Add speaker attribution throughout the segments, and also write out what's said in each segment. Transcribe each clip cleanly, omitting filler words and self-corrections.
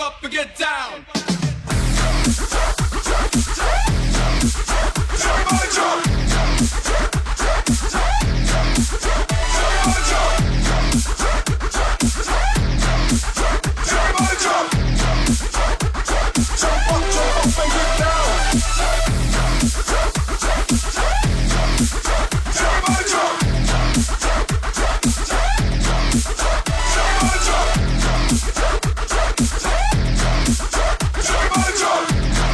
Speaker 1: up and get down. Everybody jump. Everybody jump. Everybody jump. Jump up and get down. Everybody jump. Everybody jump. Everybody jump.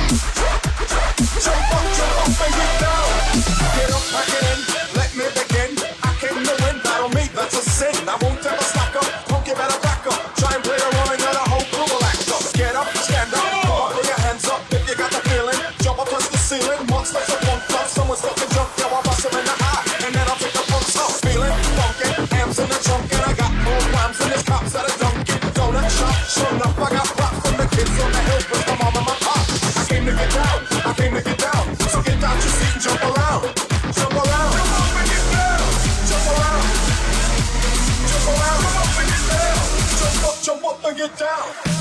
Speaker 1: Jump up and get down. Get up, pack it in, let me begin. I came to win, battle me, that's a sin. I won't ever slack up, punk you better back up. Try and play the role and the whole crew will act up. Get up, stand up, come on, put your hands up if you got the feeling. Jump up touch the ceiling, monsters of funk club. Someone's got to jump, yo, I'll bust him in the eye. And then I'll take the punks up. Feeling funky, amps in the trunk. And I got more rhymes than this cops at a Dunkin' Donut shop. Sure enough, I got props from the kids on the hill with my mom and my pop. I came to get down, I came to get down. So get out your seat and jump around. Jump around, jump up and get down. Jump around, jump around, jump up and get down. Jump up and get down.